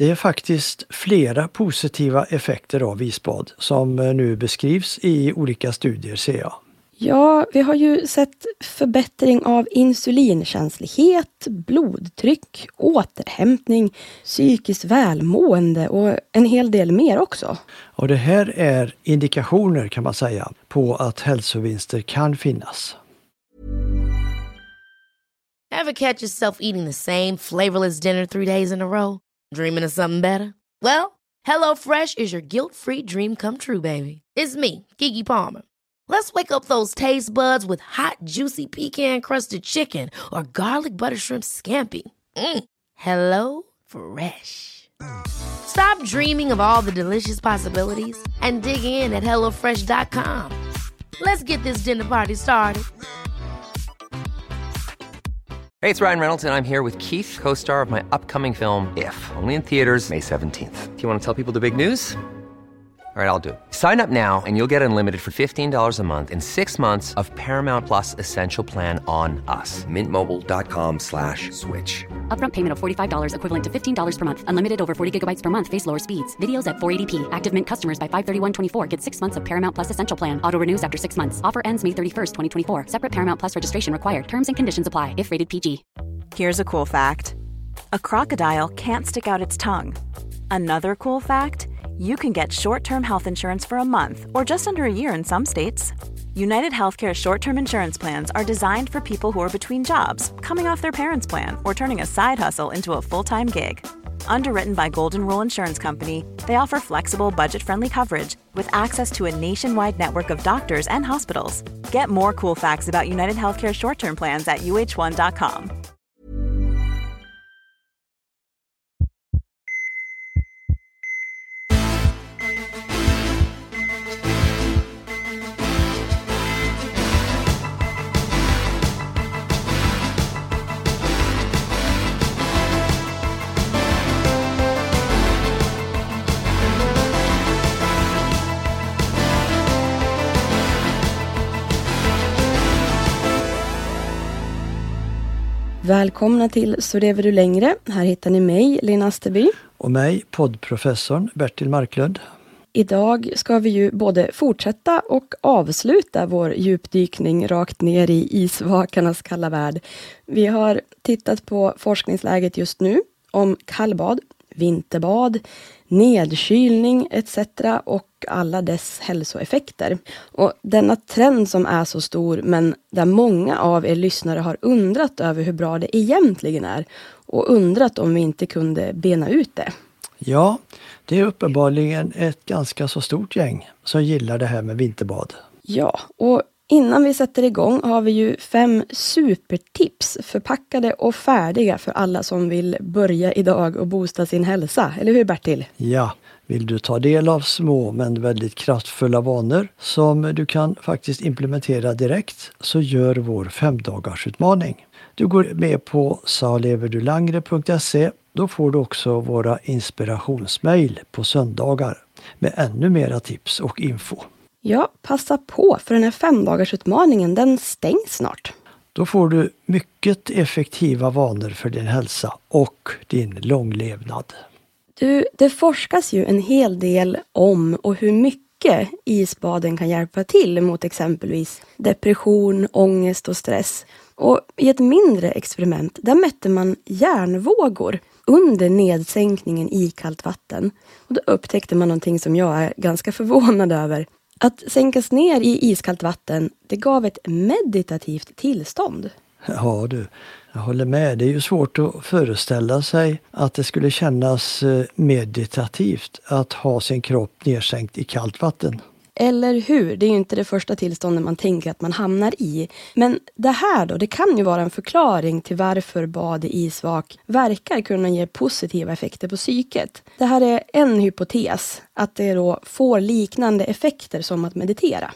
Det är faktiskt flera positiva effekter av isbad som nu beskrivs i olika studier, ser jag. Ja, vi har ju sett förbättring av insulinkänslighet, blodtryck, återhämtning, psykiskt välmående och en hel del mer också. Och det här är indikationer, kan man säga, på att hälsovinster kan finnas. Ever catch yourself eating the same flavorless dinner 3 days in a row? Dreaming of something better? Well, HelloFresh is your guilt-free dream come true, baby. It's me, Keke Palmer. Let's wake up those taste buds with hot, juicy pecan-crusted chicken or garlic butter shrimp scampi. Hello Fresh. Stop dreaming of all the delicious possibilities and dig in at HelloFresh.com. Let's get this dinner party started. Hey, it's Ryan Reynolds, and I'm here with Keith, co-star of my upcoming film, If, only in theaters May 17th. Do you want to tell people the big news? All right, I'll do it. Sign up now and you'll get unlimited for $15 a month and 6 months of Paramount Plus Essential Plan on us. MintMobile.com/switch. Upfront payment of $45 equivalent to $15 per month. Unlimited over 40 gigabytes per month. Face lower speeds. Videos at 480p. Active Mint customers by 531.24 get 6 months of Paramount Plus Essential Plan. Auto renews after 6 months. Offer ends May 31st, 2024. Separate Paramount Plus registration required. Terms and conditions apply if rated PG. Here's a cool fact. A crocodile can't stick out its tongue. Another cool fact, you can get short-term health insurance for a month or just under a year in some states. United Healthcare short-term insurance plans are designed for people who are between jobs, coming off their parents' plan, or turning a side hustle into a full-time gig. Underwritten by Golden Rule Insurance Company, they offer flexible, budget-friendly coverage with access to a nationwide network of doctors and hospitals. Get more cool facts about United Healthcare short-term plans at uh1.com. Välkomna till Så lever du längre. Här hittar ni mig, Lena Asterby. Och mig, poddprofessorn Bertil Marklund. Idag ska vi ju både fortsätta och avsluta vår djupdykning rakt ner i isvakarnas kalla värld. Vi har tittat på forskningsläget just nu om kallbad, vinterbad, nedkylning etc. och alla dess hälsoeffekter. Och denna trend som är så stor, men där många av er lyssnare har undrat över hur bra det egentligen är och undrat om vi inte kunde bena ut det. Ja, det är uppenbarligen ett ganska så stort gäng som gillar det här med vinterbad. Ja, och innan vi sätter igång har vi ju 5 supertips förpackade och färdiga för alla som vill börja idag och boosta sin hälsa. Eller hur, Bertil? Ja, vill du ta del av små men väldigt kraftfulla vanor som du kan faktiskt implementera direkt, så gör vår 5-dagarsutmaning. Du går med på saleverdulangre.se. Då får du också våra inspirationsmail på söndagar med ännu mera tips och info. Ja, passa på, för den här 5-dagarsutmaningen, den stängs snart. Då får du mycket effektiva vanor för din hälsa och din långlevnad. Du, det forskas ju en hel del om och hur mycket isbaden kan hjälpa till mot exempelvis depression, ångest och stress. Och i ett mindre experiment, där mätte man hjärnvågor under nedsänkningen i kallt vatten. Och då upptäckte man någonting som jag är ganska förvånad över. Att sänkas ner i iskallt vatten, det gav ett meditativt tillstånd. Ja du, jag håller med. Det är ju svårt att föreställa sig att det skulle kännas meditativt att ha sin kropp nedsänkt i kallt vatten. Eller hur? Det är ju inte det första tillståndet man tänker att man hamnar i. Men det här då, det kan ju vara en förklaring till varför bad i isvak verkar kunna ge positiva effekter på psyket. Det här är en hypotes, att det då får liknande effekter som att meditera.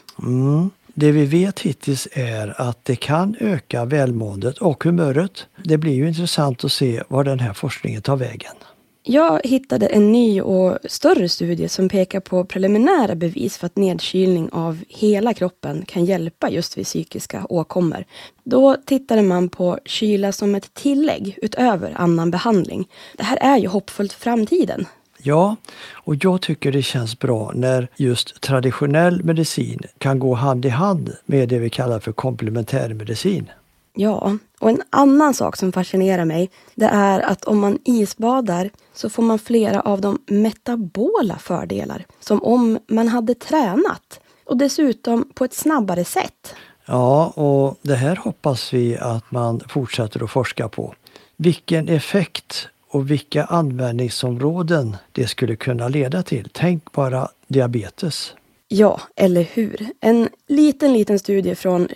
Det vi vet hittills är att det kan öka välmåendet och humöret. Det blir ju intressant att se var den här forskningen tar vägen. Jag hittade en ny och större studie som pekar på preliminära bevis för att nedkylning av hela kroppen kan hjälpa just vid psykiska åkommor. Då tittade man på kyla som ett tillägg utöver annan behandling. Det här är ju hoppfullt för framtiden. Ja, och jag tycker det känns bra när just traditionell medicin kan gå hand i hand med det vi kallar för komplementärmedicin. Ja, och en annan sak som fascinerar mig, det är att om man isbadar så får man flera av de metabola fördelar, som om man hade tränat, och dessutom på ett snabbare sätt. Ja, och det här hoppas vi att man fortsätter att forska på. Vilken effekt och vilka användningsområden det skulle kunna leda till. Tänk bara diabetes. Ja, eller hur? En liten studie från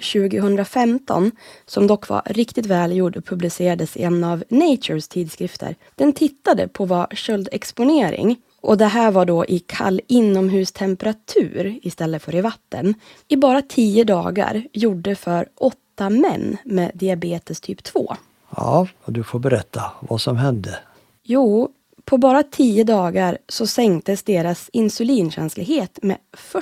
2015 som dock var riktigt välgjord och publicerades i en av Natures tidskrifter. Den tittade på vad köldexponering, och det här var då i kall inomhustemperatur istället för i vatten, i bara 10 dagar gjorde för 8 män med diabetes typ 2. Ja, och du får berätta vad som hände. Jo, på bara 10 dagar så sänktes deras insulinkänslighet med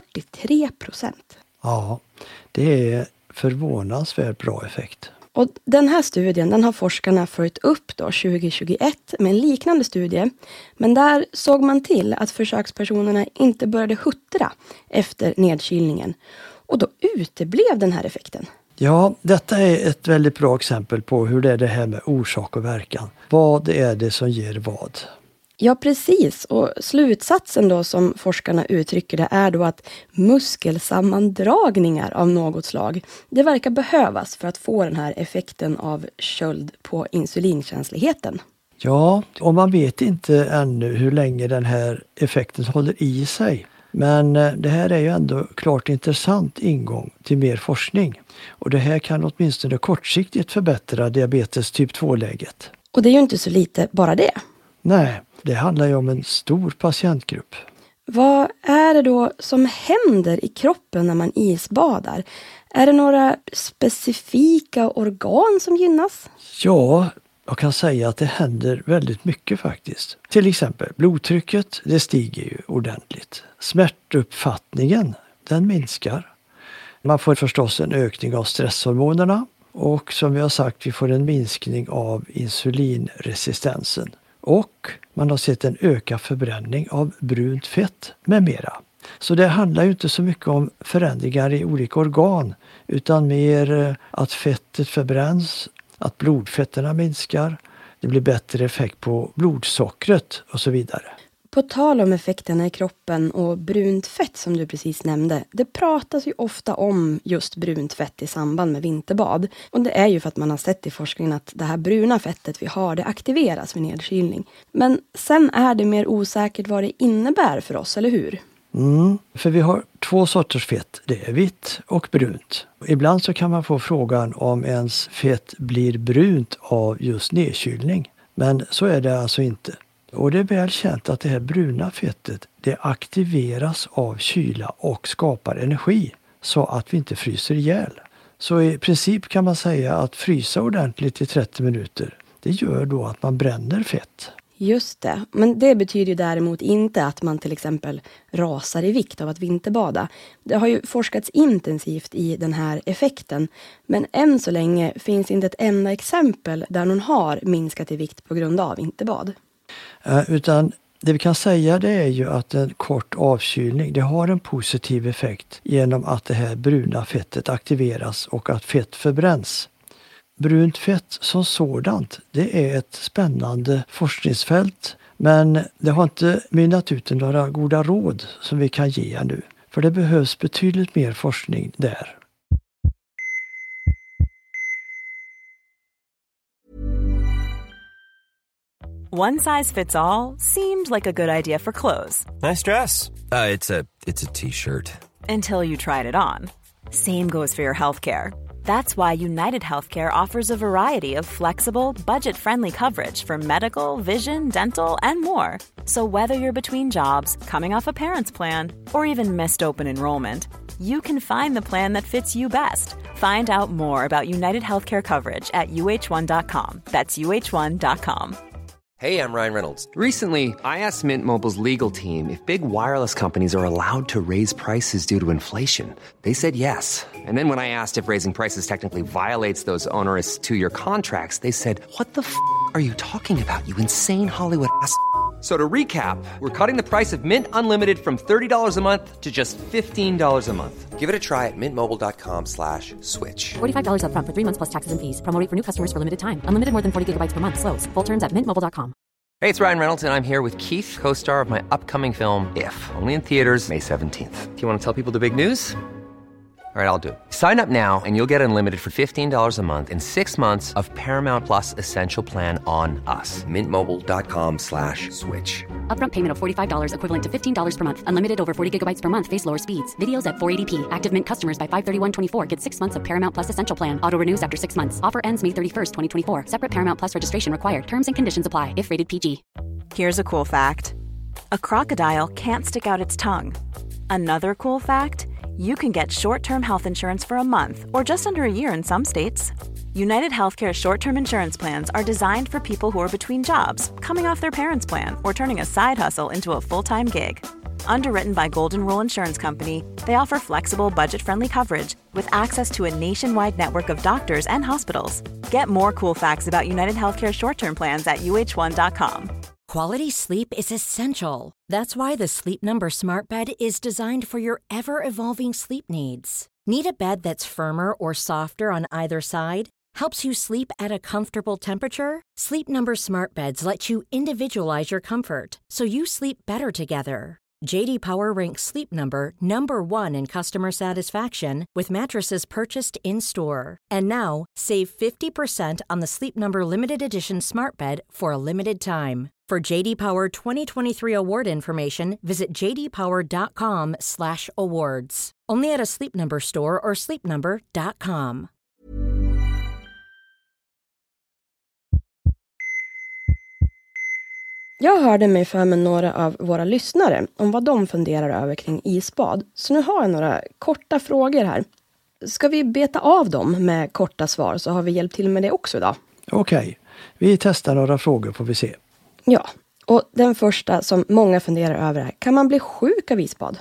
43%. Ja, det är förvånansvärt bra effekt. Och den här studien, den har forskarna följt upp då 2021 med en liknande studie. Men där såg man till att försökspersonerna inte började huttra efter nedkylningen. Och då uteblev den här effekten. Ja, detta är ett väldigt bra exempel på hur det är det här med orsak och verkan. Vad är det som ger vad? Ja, precis. Och slutsatsen då som forskarna uttrycker det är då att muskelsammandragningar av något slag, det verkar behövas för att få den här effekten av köld på insulinkänsligheten. Ja, och man vet inte ännu hur länge den här effekten håller i sig. Men det här är ju ändå klart intressant ingång till mer forskning. Och det här kan åtminstone kortsiktigt förbättra diabetes typ 2-läget. Och det är ju inte så lite bara det. Nej, det handlar ju om en stor patientgrupp. Vad är det då som händer i kroppen när man isbadar? Är det några specifika organ som gynnas? Ja, jag kan säga att det händer väldigt mycket faktiskt. Till exempel blodtrycket, det stiger ju ordentligt. Smärtuppfattningen, den minskar. Man får förstås en ökning av stresshormonerna och som vi har sagt, vi får en minskning av insulinresistensen. Och man har sett en ökad förbränning av brunt fett med mera. Så det handlar ju inte så mycket om förändringar i olika organ utan mer att fettet förbränns, att blodfetterna minskar, det blir bättre effekt på blodsockret och så vidare. På tal om effekterna i kroppen och brunt fett som du precis nämnde, det pratas ju ofta om just brunt fett i samband med vinterbad. Och det är ju för att man har sett i forskningen att det här bruna fettet vi har, det aktiveras vid nedkylning. Men sen är det mer osäkert vad det innebär för oss, eller hur? För vi har 2 sorters fett, det är vitt och brunt. Ibland så kan man få frågan om ens fett blir brunt av just nedkylning. Men så är det alltså inte. Och det är väl känt att det här bruna fettet, det aktiveras av kyla och skapar energi så att vi inte fryser ihjäl. Så i princip kan man säga att frysa ordentligt i 30 minuter, det gör då att man bränner fett. Just det, men det betyder ju däremot inte att man till exempel rasar i vikt av att vinterbada. Det har ju forskats intensivt i den här effekten, men än så länge finns inte ett enda exempel där någon har minskat i vikt på grund av vinterbad. Utan det vi kan säga det är ju att en kort avkylning, det har en positiv effekt genom att det här bruna fettet aktiveras och att fett förbränns. Brunt fett som sådant, det är ett spännande forskningsfält, men det har inte mynnat ut några goda råd som vi kan ge nu. För det behövs betydligt mer forskning där. One size fits all seemed like a good idea for clothes. Nice dress. It's a t-shirt. Until you tried it on. Same goes for your healthcare. That's why United Healthcare offers a variety of flexible, budget-friendly coverage for medical, vision, dental, and more. So whether you're between jobs, coming off a parent's plan, or even missed open enrollment, you can find the plan that fits you best. Find out more about United Healthcare coverage at uh1.com. That's uh1.com. Hey, I'm Ryan Reynolds. Recently, I asked Mint Mobile's legal team if big wireless companies are allowed to raise prices due to inflation. They said yes. And then when I asked if raising prices technically violates those onerous two-year contracts, they said, "What the f*** are you talking about, you insane Hollywood ass?" So to recap, we're cutting the price of Mint Unlimited from $30 a month to just $15 a month. Give it a try at mintmobile.com/switch. $45 up front for 3 months plus taxes and fees. Promo rate for new customers for limited time. Unlimited more than 40 gigabytes per month. Slows full terms at mintmobile.com. Hey, it's Ryan Reynolds, and I'm here with Keith, co-star of my upcoming film, If, only in theaters May 17th. Do you want to tell people the big news? All right, I'll do it. Sign up now and you'll get unlimited for $15 a month and 6 months of Paramount Plus Essential Plan on us. mintmobile.com/switch. Upfront payment of $45 equivalent to $15 per month. Unlimited over 40 gigabytes per month. Face lower speeds. Videos at 480p. Active Mint customers by 531.24 get 6 months of Paramount Plus Essential Plan. Auto renews after 6 months. Offer ends May 31st, 2024. Separate Paramount Plus registration required. Terms and conditions apply if rated PG. Here's a cool fact. A crocodile can't stick out its tongue. Another cool fact, you can get short-term health insurance for a month or just under a year in some states. United Healthcare short-term insurance plans are designed for people who are between jobs, coming off their parents' plan, or turning a side hustle into a full-time gig. Underwritten by Golden Rule Insurance Company, they offer flexible, budget-friendly coverage with access to a nationwide network of doctors and hospitals. Get more cool facts about United Healthcare short-term plans at uh1.com. Quality sleep is essential. That's why the Sleep Number Smart Bed is designed for your ever-evolving sleep needs. Need a bed that's firmer or softer on either side? Helps you sleep at a comfortable temperature? Sleep Number Smart Beds let you individualize your comfort, so you sleep better together. J.D. Power ranks Sleep Number #1 in customer satisfaction with mattresses purchased in-store. And now, save 50% on the Sleep Number Limited Edition Smart Bed for a limited time. For J.D. Power 2023 award information, visit jdpower.com/awards. Only at a Sleep Number store or sleepnumber.com. Jag hörde mig för med några av våra lyssnare om vad de funderar över kring isbad. Så nu har jag några korta frågor här. Ska vi beta av dem med korta svar, så har vi hjälpt till med det också idag. Okej, vi testar några frågor får vi se. Ja, och den första som många funderar över är: kan man bli sjuk av isbad?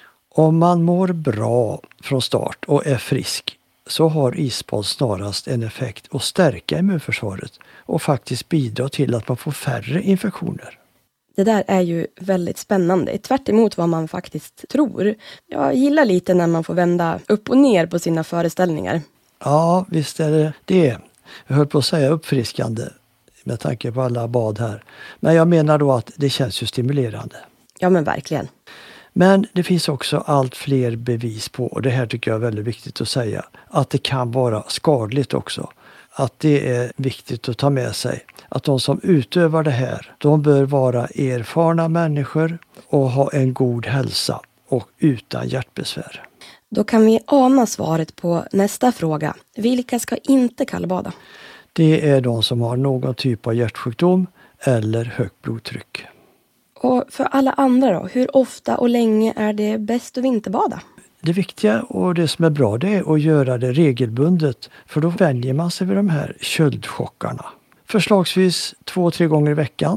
Om man mår bra från start och är frisk så har isbad snarast en effekt att stärka immunförsvaret och faktiskt bidra till att man får färre infektioner. Det där är ju väldigt spännande, tvärt emot vad man faktiskt tror. Jag gillar lite när man får vända upp och ner på sina föreställningar. Ja, visst är det det. Jag höll på att säga uppfriskande med tanke på alla bad här. Men jag menar då att det känns ju stimulerande. Ja, men verkligen. Men det finns också allt fler bevis på, och det här tycker jag är väldigt viktigt att säga, att det kan vara skadligt också. Att det är viktigt att ta med sig. Att de som utövar det här, de bör vara erfarna människor och ha en god hälsa och utan hjärtbesvär. Då kan vi ana svaret på nästa fråga. Vilka ska inte kallbada? Det är de som har någon typ av hjärtsjukdom eller högt blodtryck. Och för alla andra då, hur ofta och länge är det bäst att vinterbada? Det viktiga och det som är bra, det är att göra det regelbundet, för då vänjer man sig vid de här köldchockarna. Förslagsvis 2-3 gånger i veckan.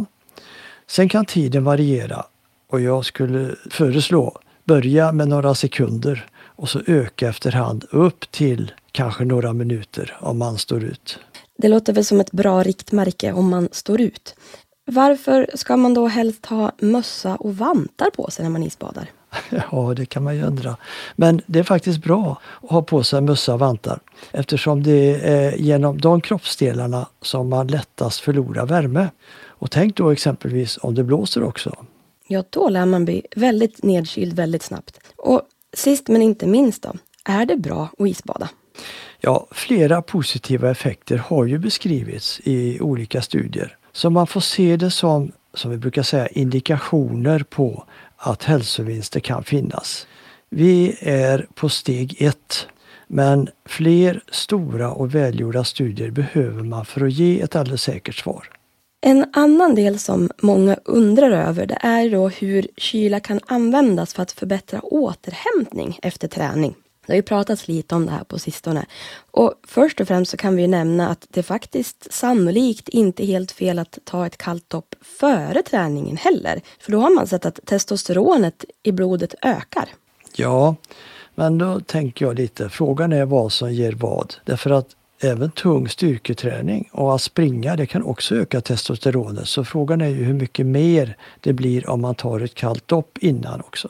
Sen kan tiden variera och jag skulle föreslå börja med några sekunder och så öka efterhand upp till kanske några minuter om man står ut. Det låter väl som ett bra riktmärke om man står ut. Varför ska man då helst ha mössa och vantar på sig när man isbadar? Ja, det kan man ju undra. Men det är faktiskt bra att ha på sig mössa och vantar. Eftersom det är genom de kroppsdelarna som man lättast förlorar värme. Och tänk då exempelvis om det blåser också. Ja, då lär man bli väldigt nedkyld väldigt snabbt. Och sist men inte minst då, är det bra att isbada? Ja, flera positiva effekter har ju beskrivits i olika studier. Så man får se det som vi brukar säga, indikationer på att hälsovinster kan finnas. Vi är på steg 1, men fler stora och välgjorda studier behöver man för att ge ett alldeles säkert svar. En annan del som många undrar över, det är då hur kyla kan användas för att förbättra återhämtning efter träning. Det har ju pratats lite om det här på sistone. Och först och främst så kan vi ju nämna att det faktiskt sannolikt inte är helt fel att ta ett kallt dopp före träningen heller. För då har man sett att testosteronet i blodet ökar. Ja, men då tänker jag lite, frågan är vad som ger vad. Därför att även tung styrketräning och att springa, det kan också öka testosteronet. Så frågan är ju hur mycket mer det blir om man tar ett kallt dopp innan också.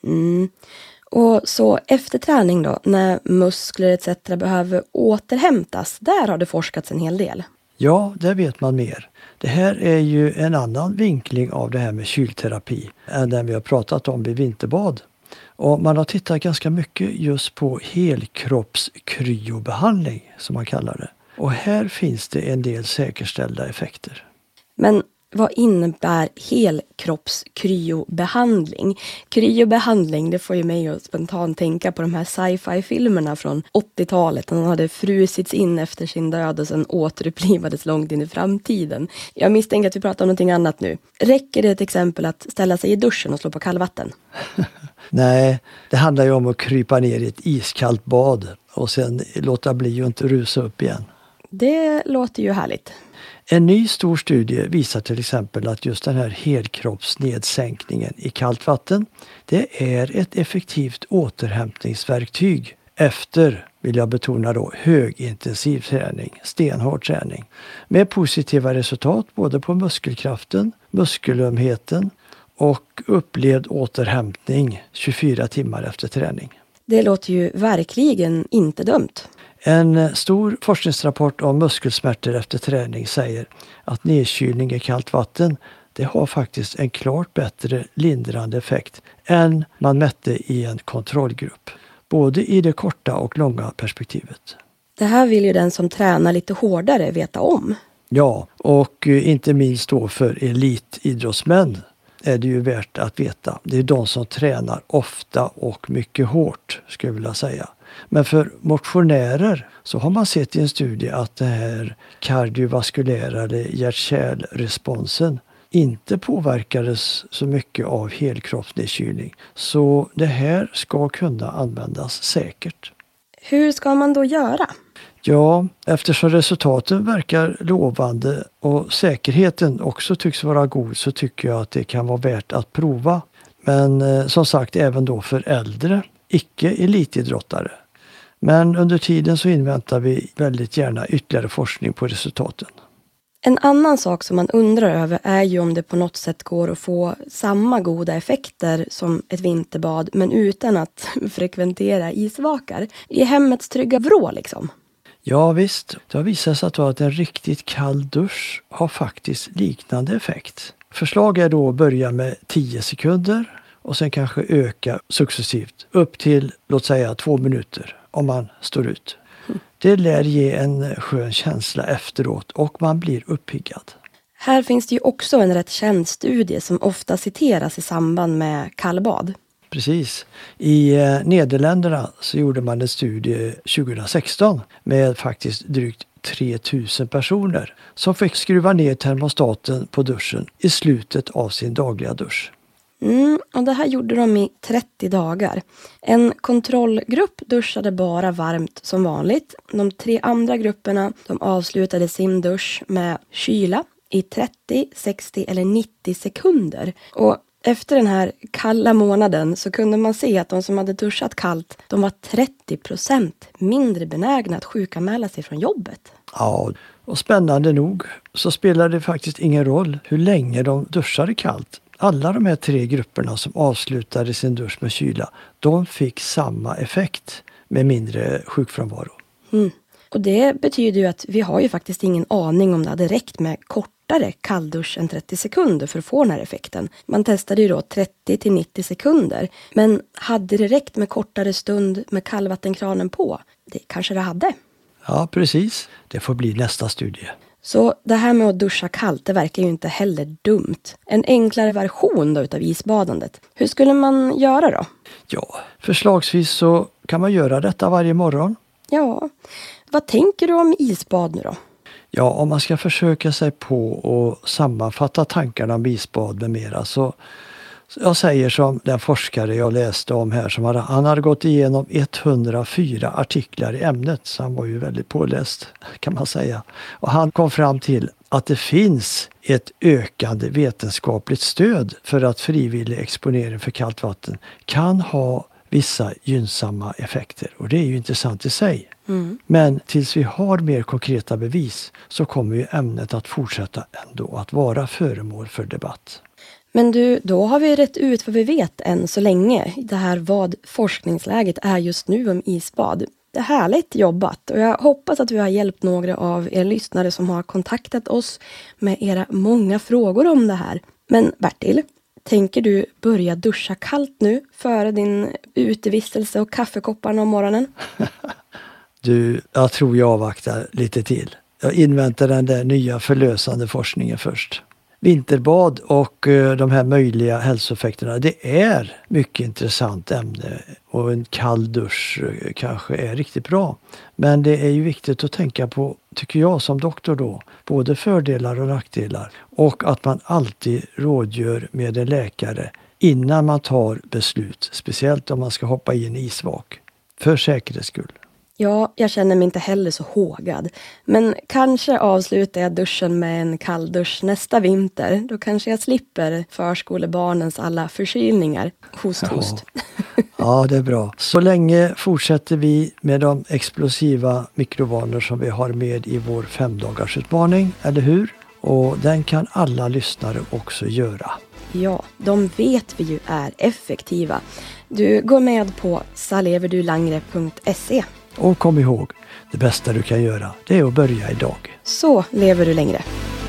Och så efter träning då, när muskler etc. behöver återhämtas, där har det forskats en hel del. Ja, där vet man mer. Det här är ju en annan vinkling av det här med kylterapi än den vi har pratat om vid vinterbad. Och man har tittat ganska mycket just på helkroppskryobehandling som man kallar det. Och här finns det en del säkerställda effekter. Men vad innebär helkroppskryobehandling? Kryobehandling, det får ju mig att spontant tänka på de här sci-fi-filmerna från 80-talet. Han hade frusits in efter sin död och sen återupplivades långt in i framtiden. Jag misstänker att vi pratar om någonting annat nu. Räcker det ett exempel att ställa sig i duschen och slå på kallvatten? Nej, det handlar ju om att krypa ner i ett iskallt bad och sen låta bli och inte rusa upp igen. Det låter ju härligt. En ny stor studie visar till exempel att just den här helkroppsnedsänkningen i kallt vatten, det är ett effektivt återhämtningsverktyg efter, vill jag betona då, högintensiv träning, stenhård träning. Med positiva resultat både på muskelkraften, muskelömheten och upplevd återhämtning 24 timmar efter träning. Det låter ju verkligen inte dumt. En stor forskningsrapport om muskelsmärtor efter träning säger att nedkylning i kallt vatten, det har faktiskt en klart bättre lindrande effekt än man mätte i en kontrollgrupp. Både i det korta och långa perspektivet. Det här vill ju den som tränar lite hårdare veta om. Ja, och inte minst då för elitidrottsmän är det ju värt att veta. Det är de som tränar ofta och mycket hårt, skulle jag vilja säga. Men för motionärer så har man sett i en studie att det här kardiovaskulära eller hjärt-kärlresponsen inte påverkades så mycket av helkroppsnedkylning. Så det här ska kunna användas säkert. Hur ska man då göra? Ja, eftersom resultaten verkar lovande och säkerheten också tycks vara god så tycker jag att det kan vara värt att prova. Men som sagt även då för äldre, icke-elitidrottare. Men under tiden så inväntar vi väldigt gärna ytterligare forskning på resultaten. En annan sak som man undrar över är ju om det på något sätt går att få samma goda effekter som ett vinterbad men utan att frekventera isvakar. I hemmets trygga vrå liksom. Ja visst, det har visat sig att en riktigt kall dusch har faktiskt liknande effekt. Förslag är då att börja med 10 sekunder och sen kanske öka successivt upp till låt säga 2 minuter om man står ut. Det lär ge en skön känsla efteråt och man blir uppiggad. Här finns det ju också en rätt känd studie som ofta citeras i samband med kallbad. Precis. I Nederländerna så gjorde man en studie 2016 med faktiskt drygt 3000 personer som fick skruva ner termostaten på duschen i slutet av sin dagliga dusch. Och det här gjorde de i 30 dagar. En kontrollgrupp duschade bara varmt som vanligt. De 3 andra grupperna de avslutade sin dusch med kyla i 30, 60 eller 90 sekunder. Och efter den här kalla månaden så kunde man se att de som hade duschat kallt, de var 30% mindre benägna att sjukanmäla sig från jobbet. Ja, och spännande nog så spelade det faktiskt ingen roll hur länge de duschade kallt. Alla de här 3 grupperna som avslutade sin dusch med kyla, de fick samma effekt med mindre sjukfrånvaro. Och det betyder ju att vi har ju faktiskt ingen aning om det hade räckt med kortare kalldusch än 30 sekunder för att få den här effekten. Man testade ju då 30 till 90 sekunder. Men hade det räckt med kortare stund med kallvattenkranen på? Det kanske det hade. Ja, precis. Det får bli nästa studie. Så det här med att duscha kallt, det verkar ju inte heller dumt. En enklare version då utav isbadandet. Hur skulle man göra då? Ja, förslagsvis så kan man göra detta varje morgon. Ja, vad tänker du om isbad nu då? Ja, om man ska försöka sig på att sammanfatta tankarna om isbad med mera så Jag säger som den forskare jag läste om här, han hade gått igenom 104 artiklar i ämnet, så han var ju väldigt påläst kan man säga. Och han kom fram till att det finns ett ökande vetenskapligt stöd för att frivillig exponering för kallt vatten kan ha vissa gynnsamma effekter. Och det är ju intressant i sig. Men tills vi har mer konkreta bevis så kommer ju ämnet att fortsätta ändå att vara föremål för debatt. Men du, då har vi rätt ut vad vi vet än så länge. Det här vad forskningsläget är just nu om isbad. Det är härligt jobbat och jag hoppas att vi har hjälpt några av er lyssnare som har kontaktat oss med era många frågor om det här. Men Bertil, tänker du börja duscha kallt nu före din utevistelse och kaffekopparna om morgonen? Du, jag tror jag avvaktar lite till. Jag inväntar den där nya förlösande forskningen först. Vinterbad och de här möjliga hälsoeffekterna, det är mycket intressant ämne och en kall dusch kanske är riktigt bra. Men det är ju viktigt att tänka på, tycker jag som doktor då, både fördelar och nackdelar och att man alltid rådgör med en läkare innan man tar beslut, speciellt om man ska hoppa i en isvak, för säkerhets skull. Ja, jag känner mig inte heller så hågad. Men kanske avslutar jag duschen med en kalldusch nästa vinter. Då kanske jag slipper förskolebarnens alla förkylningar. Host. Ja, det är bra. Så länge fortsätter vi med de explosiva mikrovanor som vi har med i vår 5-dagarsutmaning, eller hur? Och den kan alla lyssnare också göra. Ja, de vet vi ju är effektiva. Du går med på saleverdulangre.se. Och kom ihåg, det bästa du kan göra, det är att börja idag. Så lever du längre.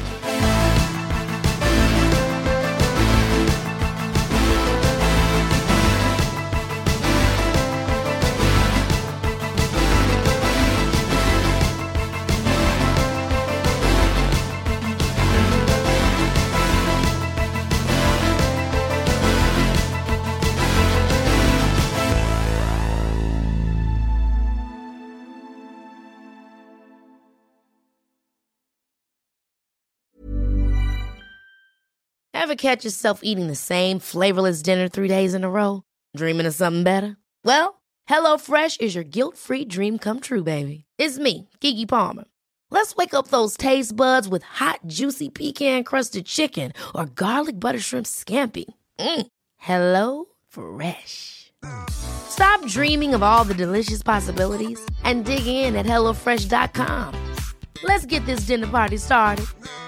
Ever catch yourself eating the same flavorless dinner 3 days in a row? Dreaming of something better? Well, HelloFresh is your guilt-free dream come true, baby. It's me, Keke Palmer. Let's wake up those taste buds with hot, juicy pecan-crusted chicken or garlic butter shrimp scampi. Hello Fresh. Stop dreaming of all the delicious possibilities and dig in at HelloFresh.com. Let's get this dinner party started.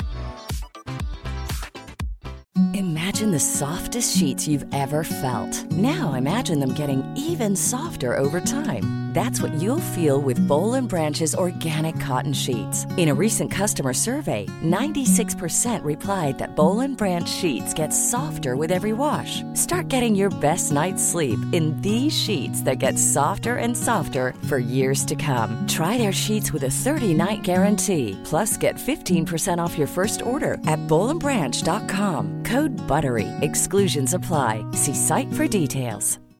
Imagine the softest sheets you've ever felt. Now imagine them getting even softer over time. That's what you'll feel with Boll & Branch's organic cotton sheets. In a recent customer survey, 96% replied that Boll & Branch sheets get softer with every wash. Start getting your best night's sleep in these sheets that get softer and softer for years to come. Try their sheets with a 30-night guarantee. Plus, get 15% off your first order at bollandbranch.com. Code BUTTERY. Exclusions apply. See site for details.